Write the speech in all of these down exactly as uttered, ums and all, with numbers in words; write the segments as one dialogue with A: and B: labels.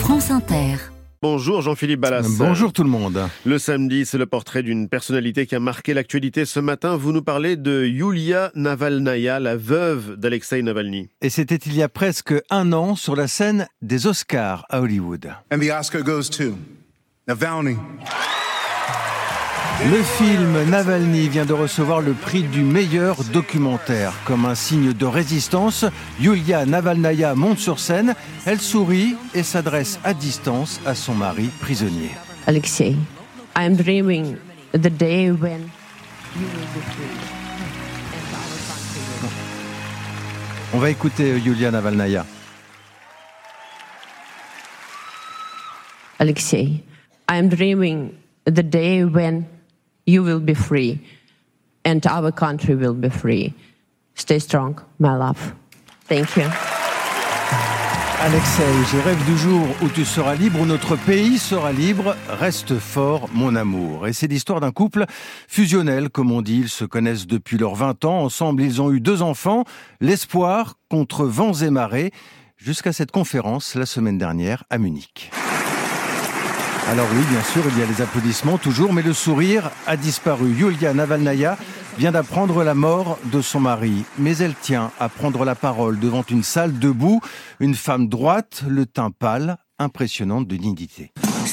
A: France Inter.
B: Bonjour Jean-Philippe Ballas.
C: Bonjour tout le monde.
B: Le samedi, c'est le portrait d'une personnalité qui a marqué l'actualité ce matin. Vous nous parlez de Yulia Navalnaya, la veuve d'Alexeï Navalny.
C: Et c'était il y a presque un an sur la scène des Oscars à Hollywood.
D: And the Oscar goes to Navalny.
C: Le film Navalny vient de recevoir le prix du meilleur documentaire. Comme un signe de résistance, Yulia Navalnaya monte sur scène, elle sourit et s'adresse à distance à son mari prisonnier.
E: Alexei, I am dreaming the day when you will be free.
C: On va écouter Yulia Navalnaya.
E: Alexei, I am dreaming the day when you will be free and our country will be free. Stay strong, my love. Thank you.
C: Alexei, je rêve du jour où tu seras libre, où notre pays sera libre. Reste fort, mon amour. Et c'est l'histoire d'un couple fusionnel, comme on dit. Ils se connaissent depuis leurs vingt ans. Ensemble, ils ont eu deux enfants. L'espoir contre vents et marées. Jusqu'à cette conférence la semaine dernière à Munich. Alors oui, bien sûr, il y a les applaudissements toujours, mais le sourire a disparu. Yulia Navalnaya vient d'apprendre la mort de son mari, mais elle tient à prendre la parole devant une salle debout, une femme droite, le teint pâle, impressionnante de dignité.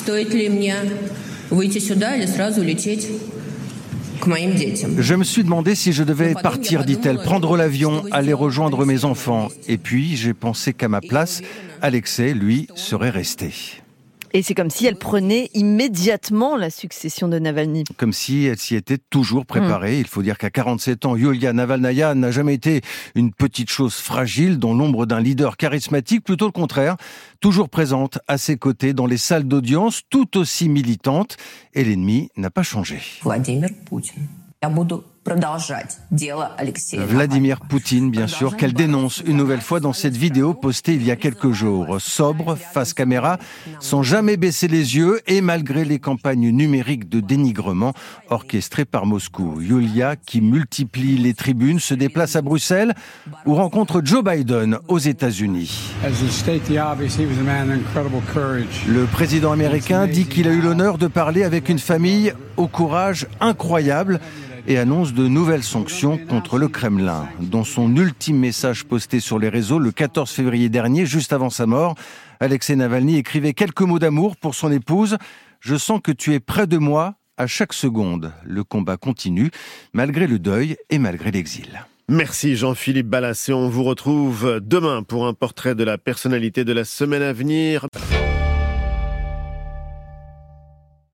C: Je me suis demandé si je devais partir, dit-elle, prendre l'avion, aller rejoindre mes enfants. Et puis, j'ai pensé qu'à ma place, Alexei, lui, serait resté.
F: Et c'est comme si elle prenait immédiatement la succession de Navalny.
C: Comme si elle s'y était toujours préparée. Mmh. Il faut dire qu'à quarante-sept ans, Yulia Navalnaya n'a jamais été une petite chose fragile dans l'ombre d'un leader charismatique, plutôt le contraire. Toujours présente à ses côtés dans les salles d'audience, tout aussi militante. Et l'ennemi n'a pas changé.
E: Vladimir Poutine.
C: Vladimir Poutine, bien sûr, qu'elle dénonce une nouvelle fois dans cette vidéo postée il y a quelques jours. Sobre, face caméra, sans jamais baisser les yeux et malgré les campagnes numériques de dénigrement orchestrées par Moscou. Yulia, qui multiplie les tribunes, se déplace à Bruxelles ou rencontre Joe Biden aux États-Unis. Le président américain dit qu'il a eu l'honneur de parler avec une famille au courage incroyable et annonce de nouvelles sanctions contre le Kremlin. Dans son ultime message posté sur les réseaux le quatorze février dernier, juste avant sa mort, Alexei Navalny écrivait quelques mots d'amour pour son épouse. « Je sens que tu es près de moi à chaque seconde. » Le combat continue, malgré le deuil et malgré l'exil.
B: Merci Jean-Philippe Ballas et on vous retrouve demain pour un portrait de la personnalité de la semaine à venir.